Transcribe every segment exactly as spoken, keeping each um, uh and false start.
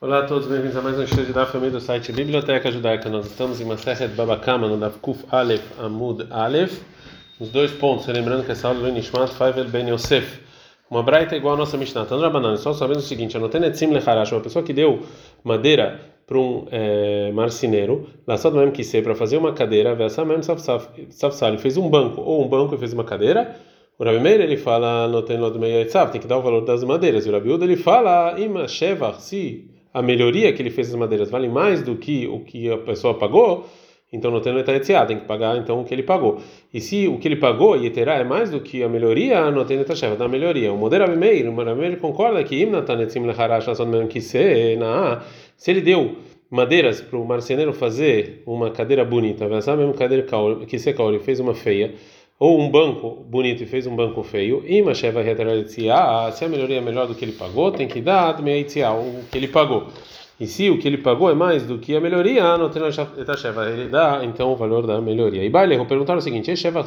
Olá a todos, bem-vindos a mais um estudo da família do site Biblioteca Judaica. Nós estamos em Masechet Baba Kama, no Daf Kuf Aleph Amud Aleph. Os dois pontos, lembrando que essa aula é do Nishmat Faivel Ben Yosef. Uma braita igual a nossa Mishnah. Tandra Banana, só sabendo o seguinte: Anotenetzim Lecharash, uma pessoa que deu madeira para um é, marceneiro, laçado mesmo que ser para fazer uma cadeira, Vessa mesmo Safsal, ele fez um banco, ou um banco e fez uma cadeira. O Rabi Meir ele fala, tem que dar o valor das madeiras. E o Rabi Uda ele fala, Ima Shevach, se a melhoria que ele fez das madeiras vale mais do que o que a pessoa pagou, então não tem netaetziá, tem que pagar então o que ele pagou. E se o que ele pagou e terá é mais do que a melhoria, não tem netaetziá, dá melhoria. O modelo Rabi Meir, o Rabi Meir concorda que se ele deu madeiras para o marceneiro fazer uma cadeira bonita, essa mesma cadeira que se ele fez uma feia, ou um banco bonito e fez um banco feio, se a melhoria é melhor do que ele pagou, tem que dar o que ele pagou. E se o que ele pagou é mais do que a melhoria, não tem ele dá então o valor da melhoria. E Baile, vou perguntar o seguinte: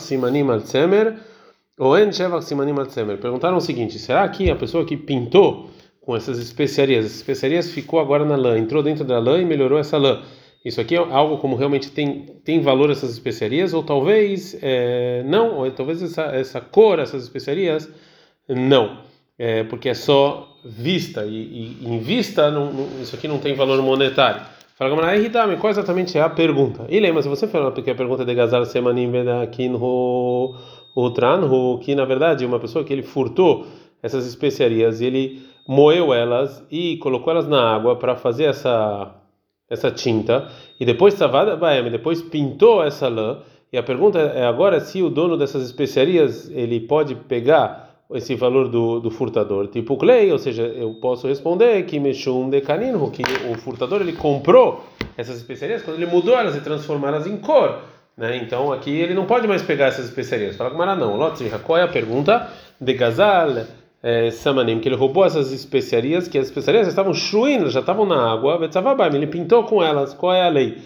perguntaram o seguinte, será que a pessoa que pintou com essas especiarias, as especiarias ficou agora na lã, entrou dentro da lã e melhorou essa lã, isso aqui é algo como realmente tem, tem valor essas especiarias, ou talvez é, não, ou talvez essa, essa cor, essas especiarias, não, é, porque é só vista, e, e em vista não, não, isso aqui não tem valor monetário. Fala, Gamara, Ridame, qual exatamente é a pergunta? E lembra, se você falou porque a pergunta de Gazal Semanim aqui no Utran, que na verdade uma pessoa que ele furtou essas especiarias, ele moeu elas e colocou elas na água para fazer essa essa tinta, e depois Savada Baem, depois pintou essa lã, e a pergunta é agora se o dono dessas especiarias ele pode pegar esse valor do, do furtador, tipo Clay, ou seja, eu posso responder que Meshum de Canino, que o furtador ele comprou essas especiarias quando ele mudou elas e transformou elas em cor, né? Então aqui ele não pode mais pegar essas especiarias. Fala com Mara não, Lotzriha, qual é a pergunta de Gazal É, Samanim, que ele roubou essas especiarias, que as especiarias já estavam chuindo, já estavam na água, ele pintou com elas. Qual é a lei?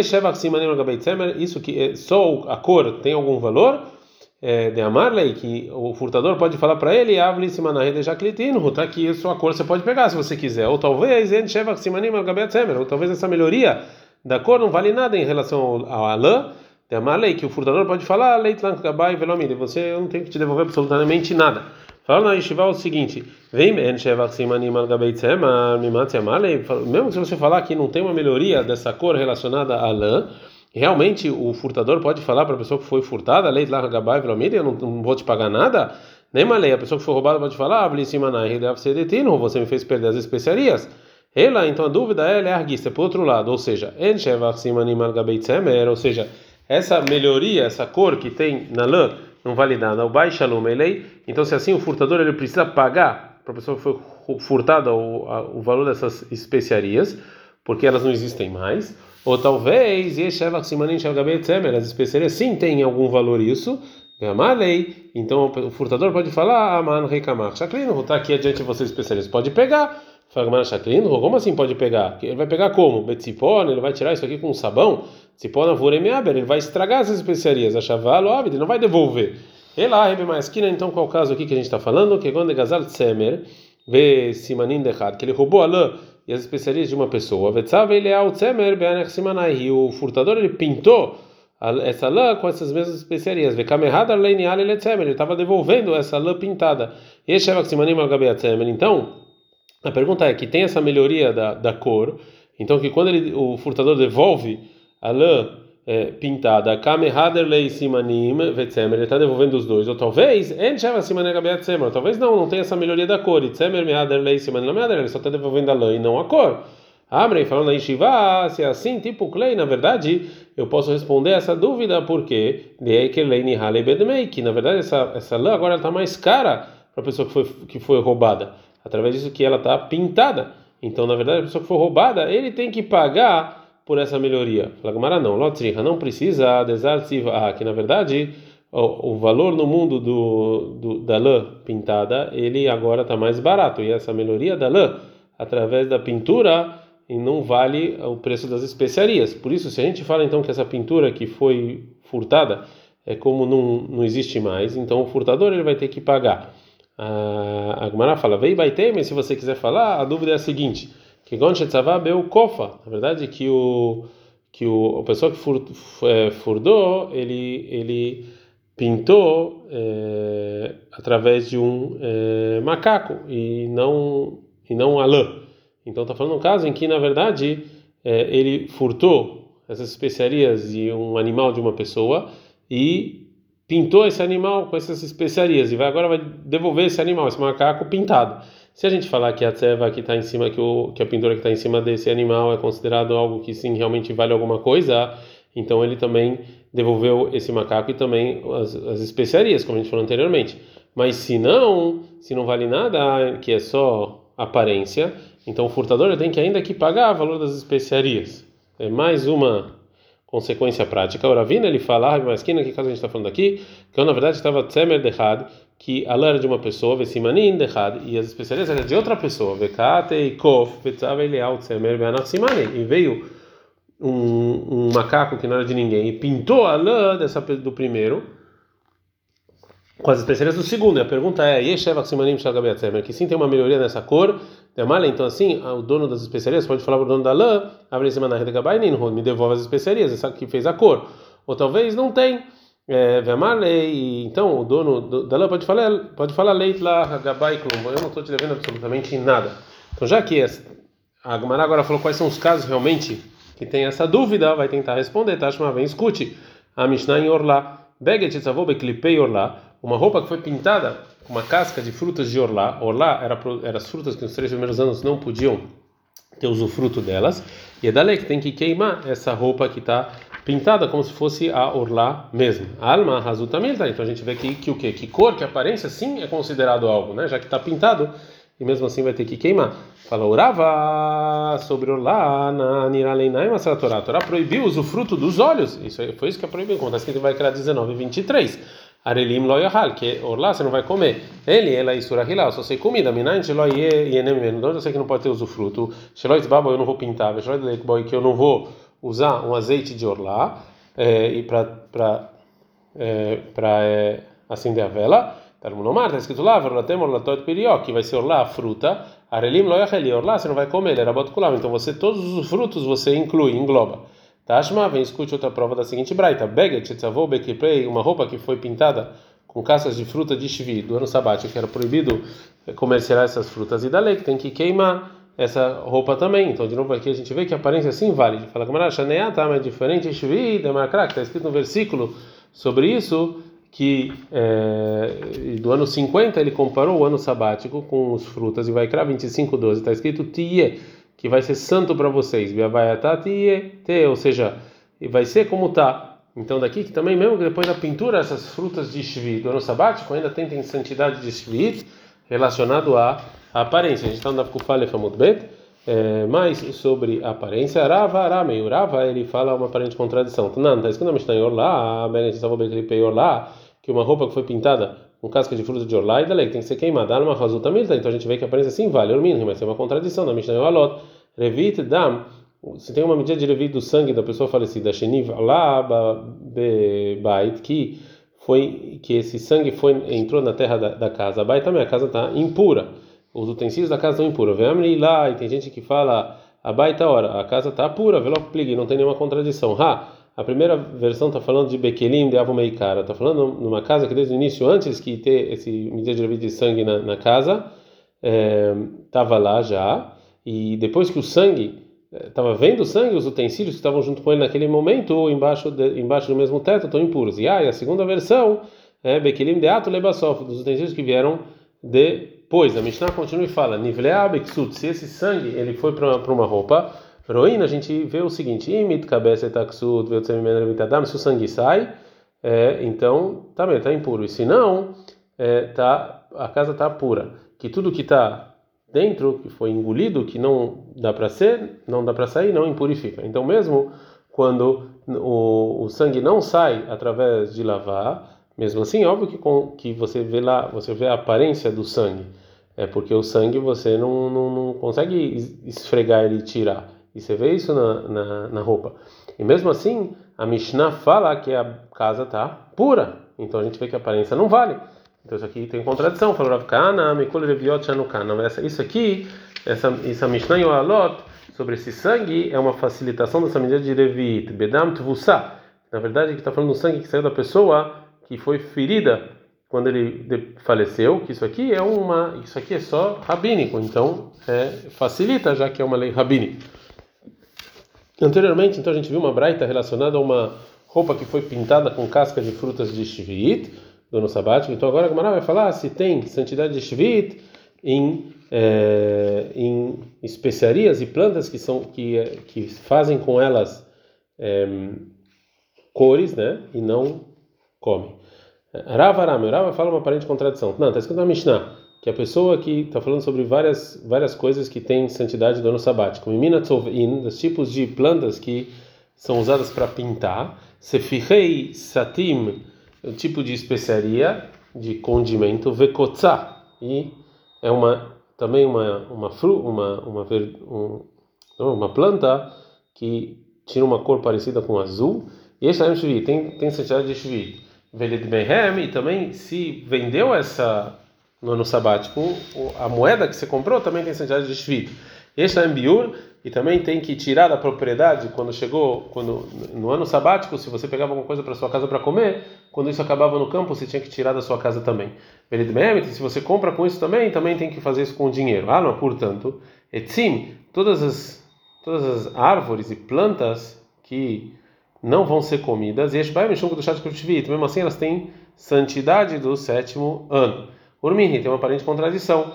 Isso que só a cor tem algum valor? É, de Amarley, que o furtador pode falar para ele, Avli Simanahi de Jaclitinho, tá aqui, sua cor você pode pegar se você quiser. Ou talvez, ou talvez essa melhoria da cor não vale nada em relação à lã. De Amarley, que o furtador pode falar, Leitlan Gabai Velomide, você não tem que te devolver absolutamente nada. Fala na Yeshiva o seguinte: vem mesmo se você falar que não tem uma melhoria dessa cor relacionada à lã, realmente o furtador pode falar para a pessoa que foi furtada, lei lá Gabai, eu não, não vou te pagar nada. Nem uma lei, a pessoa que foi roubada pode falar, você me fez perder as especiarias. Ela, então a dúvida é, é arguista, por outro lado, ou seja, ou seja, essa melhoria, essa cor que tem na lã não vale nada. O Bai Shalom Elei. Então, se assim o furtador ele precisa pagar para a pessoa que foi furtada o, a, o valor dessas especiarias, porque elas não existem mais. Ou talvez as especiarias sim têm algum valor isso. Lei. Então o furtador pode falar, Aman Reikamach Shaklino, está aqui adiante de vocês especiarias. Pode pegar. Como assim pode pegar? Ele vai pegar como? Betzipon, ele vai tirar isso aqui com um sabão? Tzipona Vuremeaber, ele vai estragar essas especiarias. A Chavalo Abid, ele não vai devolver. E lá, Rebe Maeskina, então qual é o caso aqui que a gente está falando? Que quando Gazal Tsemer, vê Simanin Dechad, que ele roubou a lã e as especiarias de uma pessoa. Vetzav ele é o Tsemer, Beanech Simanai, e o furtador ele pintou essa lã com essas mesmas especiarias. Vekamerhad Arleinial ele Tsemer, ele estava devolvendo essa lã pintada. E Shavak Simanim Algabea Tsemer, então. A pergunta é que tem essa melhoria da, da cor, então que quando ele, o furtador devolve a lã é, pintada, Kamehaderlei Simanim Vetzemer, ele está devolvendo os dois, ou talvez, ou talvez não, não tem essa melhoria da cor, e Tzemer Mehaderlei Simanim, ele só está devolvendo a lã e não a cor. Amrei falando na Yeshiva, se é assim, tipo Clay, na verdade, eu posso responder essa dúvida, porque que na verdade essa, essa lã agora está mais cara para a pessoa que foi, que foi roubada. Através disso que ela está pintada. Então, na verdade, a pessoa que for roubada, ele tem que pagar por essa melhoria. Fala, não, Lotzriha, não precisa desartivar, que na verdade o, o valor no mundo do, do, da lã pintada, ele agora está mais barato. E essa melhoria da lã, através da pintura, não vale o preço das especiarias. Por isso, se a gente fala então que essa pintura que foi furtada é como não, não existe mais, então o furtador ele vai ter que pagar. A Gemara fala, vei baitei, mas se você quiser falar, a dúvida é a seguinte, que gon shetzavá beu kofa. Na verdade, que o que o a pessoa que fur, é, furdou, ele ele pintou é, através de um é, macaco e não e não a lã. Então está falando um caso em que na verdade é, ele furtou essas especiarias de um animal de uma pessoa e pintou esse animal com essas especiarias e vai agora vai devolver esse animal, esse macaco pintado. Se a gente falar que a tseva que está em cima, que, o, que a pintura que está em cima desse animal é considerado algo que sim realmente vale alguma coisa, então ele também devolveu esse macaco e também as, as especiarias, como a gente falou anteriormente. Mas se não, se não vale nada, que é só aparência, então o furtador tem que ainda que pagar o valor das especiarias. É mais uma consequência prática. O Ravina ele fala, mas que caso a gente está falando aqui, que eu, na verdade estava tzemer dechad, que a lã era de uma pessoa, vesimanin dechad, e as especiarias eram de outra pessoa, vekate e kof, vetzav eleau tzemer beanach simanin, e veio um, um macaco que não era de ninguém e pintou a lã dessa do primeiro com as especiarias do segundo. E a pergunta é, yeshevach simanim shalgabei tzemer, que sim tem uma melhoria nessa cor. Então assim, o dono das especiarias pode falar para o dono da lã, me devolve as especiarias, essa que fez a cor. Ou talvez não tem. É, então o dono da lã pode falar, pode falar leit lá, eu não estou te devendo absolutamente nada. Então já que a Gemara agora falou quais são os casos realmente que tem essa dúvida, vai tentar responder. Tashma, vem, escute. A Mishnah em Orlá, Beget etzavou beklipei Orlá, uma roupa que foi pintada com uma casca de frutas de Orlá. Orlá era, era as frutas que nos três primeiros anos não podiam ter usufruto delas. E é dali que tem que queimar essa roupa que está pintada como se fosse a Orlá mesmo. Alma razutamilta. Então a gente vê que, que o quê? Que cor, que aparência, sim é considerado algo, né? Já que está pintado e mesmo assim vai ter que queimar. Fala Urava sobre Orlá na Niraleinai Masra Torá. A Torá proibiu o usufruto dos olhos. Isso foi isso que é proibido. Como está escrito, vai criar dezenove, vinte e três. Arelim lo yahal, que Orlá você não vai comer. Ele, ela e surahilá, só sei comida. Minayin shelo yenem, então eu sei que não pode ter usufruto. Shelo itzbabo, eu não vou pintar. Shelo leikboy, que eu não vou usar um azeite de Orlá é, e para para é, para é, acender a vela. Talmunomar, está escrito lá, verlatem orlatot pirió, que vai ser Orlá a fruta. Arelim lo yahal, Orlá você não vai comer. Ele era botukulam, então você todos os frutos você inclui, engloba. Tashma, vem, escute outra prova da seguinte braita. Beget, etzavou, bekiprei, uma roupa que foi pintada com cascas de fruta de shvi, do ano sabático, que era proibido comercializar essas frutas, e da lei que tem que queimar essa roupa também. Então, de novo, aqui a gente vê que a aparência sim vale. Fala que a Shaneá tá mais diferente, shvi, demarcra, que está escrito no versículo sobre isso, que é, do ano cinquenta ele comparou o ano sabático com os frutas, e vai crar vinte e cinco, doze, está escrito tie, que vai ser santo para vocês, ou seja, vai ser como tá. Então daqui que também mesmo que depois da pintura essas frutas de shvi do ano sabático ainda tem santidade de shvi relacionado à aparência. A gente está no Kufale Famud Bet, mais sobre a aparência. Rava, Rama e Rava ele fala uma aparente contradição. Não, está escrito na Mishnah em Orlá, Orlá, que uma roupa que foi pintada com casca de fruta de Orlá e da lei tem que ser queimada. Alma razuta milta, então a gente vê que a aparência sim vale. Ormin, mas tem uma contradição na Mishnah em Alot. Revit dam, se tem uma medida de revit do sangue da pessoa falecida, Sheniv lá bait, que foi que esse sangue foi entrou na terra da, da casa. Bait também a casa está impura. Os utensílios da casa estão impuros. Vem lá e tem gente que fala a baita hora, a casa está pura, velo plig, não tem nenhuma contradição. Ha, a primeira versão está falando de Bekelim de Avumeikara, está falando numa casa que desde o início, antes que ter esse medida de revit de sangue na, na casa, estava é, lá já. E depois que o sangue, estava vendo o sangue, os utensílios que estavam junto com ele naquele momento, embaixo, de, embaixo do mesmo teto, estão impuros. E, ah, e a segunda versão é Bekelim de Ato Lebasof, dos utensílios que vieram depois. A Mishnah continua e fala, Nivlea Beksut, se esse sangue ele foi para uma roupa, Roina, a gente vê o seguinte, Imit Kabese Taksut, se o sangue sai, é, então também está impuro. E se não, é, tá, a casa está pura. Que tudo que está dentro, que foi engolido, que não dá para ser, não dá para sair, não impurifica. Então mesmo quando o, o sangue não sai através de lavar, mesmo assim, óbvio que, com, que você vê lá, você vê a aparência do sangue, é porque o sangue você não, não, não consegue esfregar ele e tirar, e você vê isso na, na, na roupa. E mesmo assim, a Mishnah fala que a casa está pura, então a gente vê que a aparência não vale. Então isso aqui tem contradição. Falou Rav Kahana, Mikol Reviot Shanukana. Isso aqui, essa, essa Mishnah e o Alot, sobre esse sangue, é uma facilitação dessa medida de Revit. Bedam Tvusa. Na verdade, que está falando do sangue que saiu da pessoa que foi ferida quando ele faleceu, que isso aqui é uma, isso aqui é só rabínico, então é, facilita, já que é uma lei rabínica. Anteriormente, então a gente viu uma braita relacionada a uma roupa que foi pintada com casca de frutas de shvit, do ano sabático. Então agora a Gemara vai falar se tem santidade de shvit em, é, em especiarias e plantas que são que que fazem com elas é, cores, né, e não comem. Rava Arame, Rava fala uma aparente contradição. Não, está escrito na Mishnah que a pessoa que está falando sobre várias várias coisas que têm santidade do ano sabático, Mimina Tzovin, dos tipos de plantas que são usadas para pintar, Sefirei Satim, o tipo de especiaria, de condimento, Vekotza, e é uma também uma uma fru, uma uma um, uma planta que tira uma cor parecida com azul, e esse é tem tem santidade de shvit. Veled Behem, e também se vendeu essa no ano sabático, a moeda que você comprou também tem santidade de shvit. Este é biur, e também tem que tirar da propriedade quando chegou, quando no ano sabático, se você pegava alguma coisa para sua casa para comer, quando isso acabava no campo, você tinha que tirar da sua casa também. Veled Behem, se você compra com isso também, também tem que fazer isso com dinheiro. Ah, não, portanto, etzim, todas as todas as árvores e plantas que não vão ser comidas, e mesmo assim elas têm santidade do sétimo ano. Urmini tem uma aparente contradição.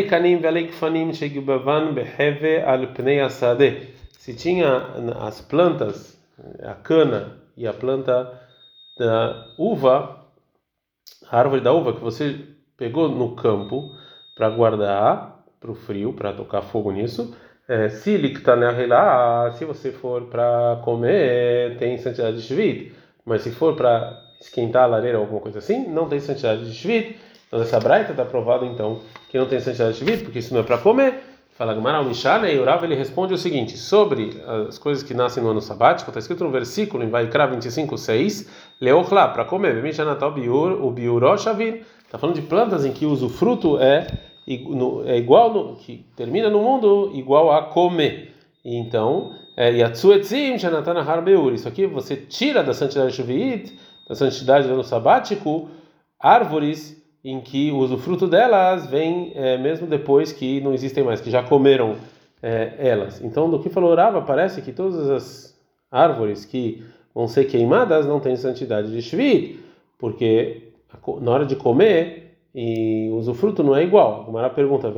Se tinha as plantas, a cana e a planta da uva, a árvore da uva que você pegou no campo para guardar para o frio, para tocar fogo nisso, É, se se você for para comer, tem santidade de shvit, mas se for para esquentar a lareira ou alguma coisa assim, não tem santidade de shvit. Então essa braita está provado então que não tem santidade de shvit, porque isso não é para comer. Fala Gemara, o Mishale, e o Rav ele responde o seguinte: sobre as coisas que nascem no ano sabático, está escrito no versículo em Vaikra vinte e cinco, seis, leochla, para comer, bemishanatal biur, o biuroshavin, está falando de plantas em que o usufruto é é igual no, que termina no mundo igual a comer. Então, yatsuetzim shanatana harbeur, isso aqui você tira da santidade shuvit, da santidade do ano sabático, árvores em que o usufruto delas vem é, mesmo depois que não existem mais, que já comeram é, elas. Então, do que falou Rava, parece que todas as árvores que vão ser queimadas não têm santidade de shvit, porque na hora de comer e o usufruto não é igual. A Gemara pergunta,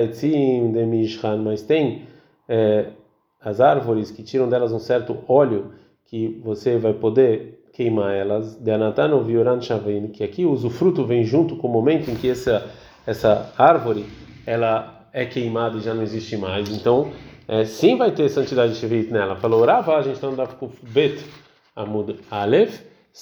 mas tem é, as árvores que tiram delas um certo óleo que você vai poder queimar elas, que aqui o usufruto vem junto com o momento em que essa, essa árvore ela é queimada e já não existe mais. Então, é, sim vai ter santidade de shvit nela. Falou, Rava, a gente está andando com Bet Amud Aleph,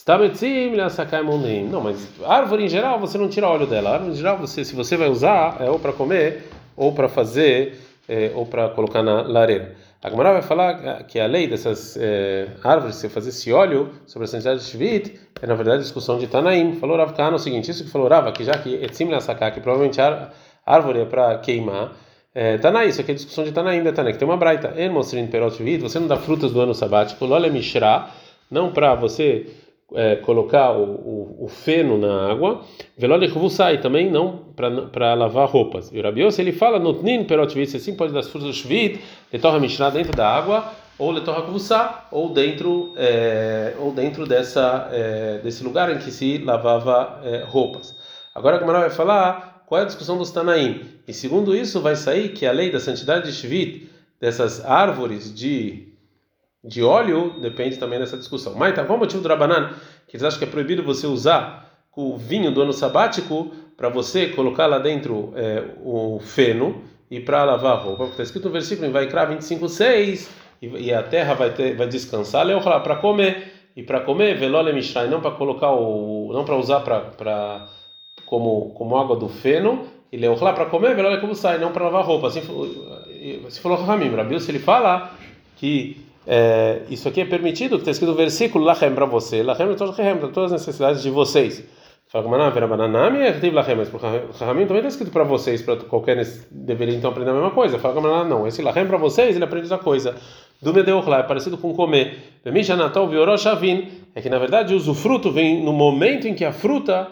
não, mas árvore em geral você não tira óleo dela. Árvore em geral você, se você vai usar, é ou para comer, ou para fazer, é, ou para colocar na lareira. A Gemara vai falar que a lei dessas é, árvores, se fazer esse óleo sobre a santidade de shvit, é na verdade a discussão de Tanaim. Falou Rav Kahana o seguinte: isso que falou Rava, que já que etzim le'asaká, que provavelmente a árvore é para queimar. É, Tanaim, isso aqui é a discussão de Tanaim, da Tanaim, que tem uma braita. En mosrin perot shvit, você não dá frutas do ano sabático, lole mishra, não para você É, colocar o, o, o feno na água, velole sai também não para lavar roupas. E o Rabi Yossi ele fala notnin perot shvit, você sim pode dar as frutas do shvit, letorra mishra dentro da água, ou letorra kvusa, ou dentro é, ou dentro dessa é, desse lugar em que se lavava é, roupas. Agora a Gemara vai falar qual é a discussão dos Tanaim. E segundo isso vai sair que a lei da santidade de shvit dessas árvores de de óleo depende também dessa discussão. Mas tá, qual é o motivo do Rabanan? Que eles acham que é proibido você usar o vinho do ano sabático para você colocar lá dentro é, o feno e para lavar a roupa. Está escrito no versículo em Vaikra vinte e cinco, seis, e, e a terra vai, ter, vai descansar, para comer, e para comer, velole mishrai, não para colocar o, não para usar para como como água do feno, e leochla para comer, velole como sai, não para lavar a roupa. Assim, se falou Ramim, Rabi, se ele fala que É, isso aqui é permitido, que está escrito no versículo Lachem para você, Lachem para todas as necessidades de vocês. Fala com Maná, Vera Bananami, é tive Lachem, mas para Rahamim também está escrito para vocês, para qualquer deveria então aprender a mesma coisa. Fala com Maná, não, esse Lachem para vocês, ele aprende outra coisa. Do Medeuchla, é parecido com comer. Mishanatol Vioró Shavin, é que na verdade o usufruto vem no momento em que a fruta,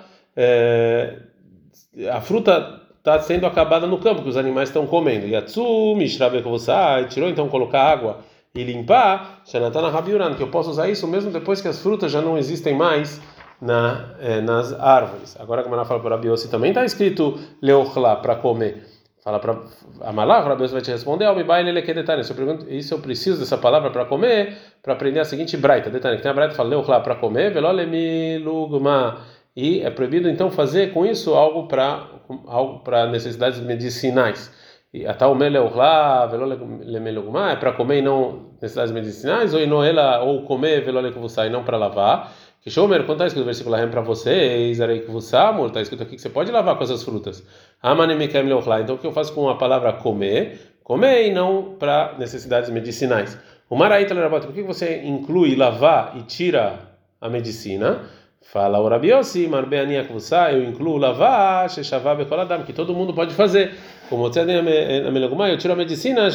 é, a fruta está sendo acabada no campo, que os animais estão comendo. Yatsu, Mishrabekovosai, tirou então colocar água e limpar, Shanatana Rabiuran, que eu posso usar isso mesmo depois que as frutas já não existem mais Na, é, nas árvores. Agora que a Maná fala para o Rabiossi, também está escrito leochla, para comer. Fala para a Malá, o Rabiossi vai te responder, isso eu preciso dessa palavra para comer, para aprender a seguinte braita. Detalhe, que tem a braita que fala leochla para comer, velolemilugma, e é proibido então fazer com isso algo para algo para necessidades medicinais. E até o leochla, velolemilugma, é para comer e não necessidades medicinais, ou inoela, ou comer velolemilugma e não para lavar. Que Shomer, quando está escrito o versículo lá para vocês, está escrito aqui que você pode lavar com essas frutas. Então o que eu faço com a palavra comer? Comer e não para necessidades medicinais. O Maraíta Lerabat, por que você inclui lavar e tira a medicina? Fala o Rabiossi, Marbeania Kvusa, eu incluo lavar, Sheshavá Bekoladam, que todo mundo pode fazer. Como eu tiro a medicina,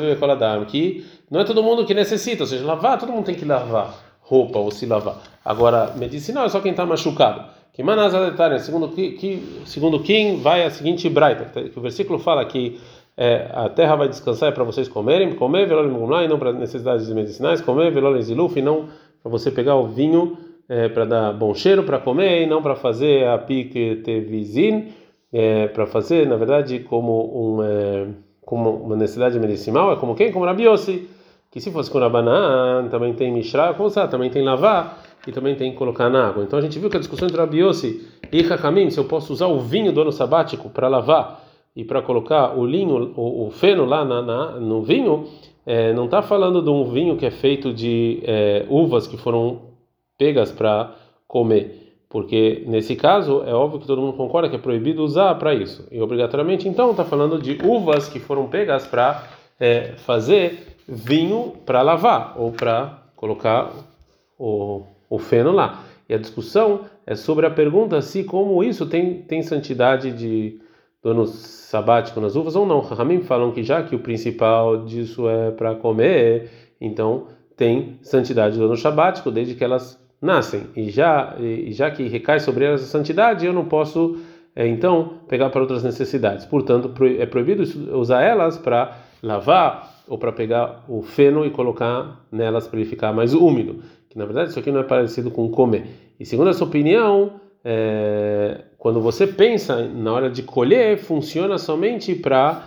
que não é todo mundo que necessita, ou seja, lavar, todo mundo tem que lavar roupa ou se lavar. Agora, medicinal é só quem está machucado. Que manazaletária, segundo que, que segundo quem vai a seguinte braita, que o versículo fala que é, a terra vai descansar é para vocês comerem, comer velolim e não para necessidades medicinais, comer velolim ziluf e não para você pegar o vinho é, para dar bom cheiro para comer e não para fazer a piquetevizin, é, para fazer, na verdade, como um é, como uma necessidade medicinal, é como quem? Como Rabiossi, que se fosse com Rabanan, também tem Mishra, também tem lavar e também tem colocar na água. Então a gente viu que a discussão entre Rabiossi e Hakamim, se eu posso usar o vinho do ano sabático para lavar e para colocar o linho, o, o feno lá na, na, no vinho, é, não está falando de um vinho que é feito de é, uvas que foram pegas para comer, porque nesse caso é óbvio que todo mundo concorda que é proibido usar para isso, e obrigatoriamente então está falando de uvas que foram pegas para é, fazer vinho para lavar ou para colocar o, o feno lá. E a discussão é sobre a pergunta se como isso tem, tem santidade de do ano sabático nas uvas ou não. Rahamim falam que já que o principal disso é para comer, então tem santidade do ano sabático desde que elas nascem. E já, e já que recai sobre elas a santidade, eu não posso é, então pegar para outras necessidades. Portanto, é proibido usar elas para lavar ou para pegar o feno e colocar nelas para ele ficar mais úmido, que na verdade isso aqui não é parecido com comer. E segundo essa opinião, é, quando você pensa na hora de colher, funciona somente para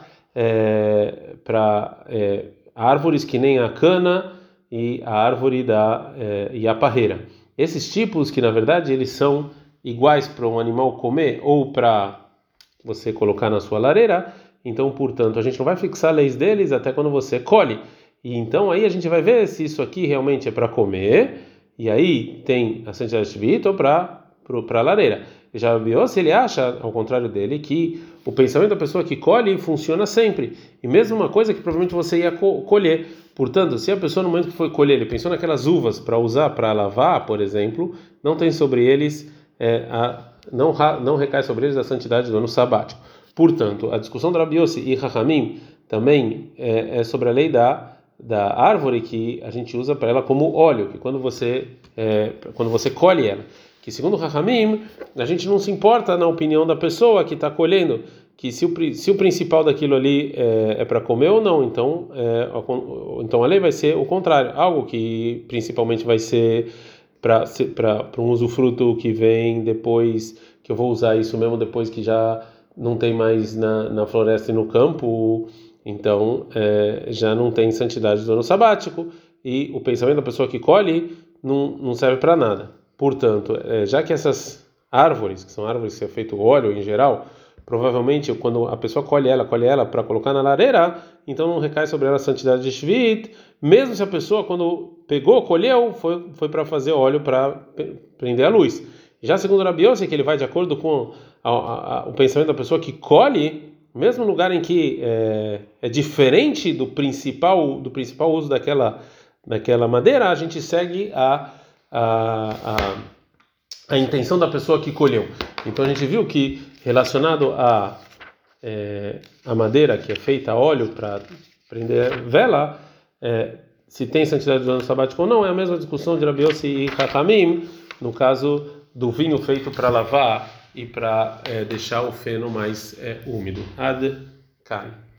é, para é, árvores que nem a cana e a árvore da é, e a parreira. Esses tipos que na verdade eles são iguais para um animal comer ou para você colocar na sua lareira. Então, portanto, a gente não vai fixar leis deles até quando você colhe. E então aí a gente vai ver se isso aqui realmente é para comer, e aí tem a santidade shvit ou para para a lareira. E já viu se ele acha, ao contrário dele, que o pensamento da pessoa que colhe funciona sempre. E mesmo uma coisa que provavelmente você ia colher. Portanto, se a pessoa no momento que foi colher, ele pensou naquelas uvas para usar para lavar, por exemplo, não tem sobre eles, é, a, não, não recai sobre eles a santidade do ano sabático. Portanto, a discussão do Rabiossi e Hakamim também é, é sobre a lei da, da árvore que a gente usa para ela como óleo, que quando você, é, quando você colhe ela. Que segundo Hakamim, a gente não se importa na opinião da pessoa que está colhendo, que se o, se o principal daquilo ali é, é para comer ou não, então, é, então a lei vai ser o contrário, algo que principalmente vai ser para um usufruto que vem depois, que eu vou usar isso mesmo depois que já não tem mais na, na floresta e no campo, então é, já não tem santidade do ano sabático, e o pensamento da pessoa que colhe não, não serve para nada. Portanto, é, já que essas árvores, que são árvores que é feito óleo em geral, provavelmente quando a pessoa colhe ela, colhe ela para colocar na lareira, então não recai sobre ela a santidade de shvit, mesmo se a pessoa quando pegou, colheu, foi, foi para fazer óleo para prender a luz. Já segundo o Rabiossi, que ele vai de acordo com a, a, a, o pensamento da pessoa que colhe, mesmo no lugar em que é, é diferente do principal do principal uso daquela daquela madeira, a gente segue a a, a, a intenção da pessoa que colheu. Então a gente viu que relacionado a é, a madeira que é feita a óleo para prender vela, é, se tem santidade do ano sabático ou não, é a mesma discussão de Rabi Yossi e Hakamim no caso do vinho feito para lavar e para é, deixar o feno mais é, úmido. Ad Kai.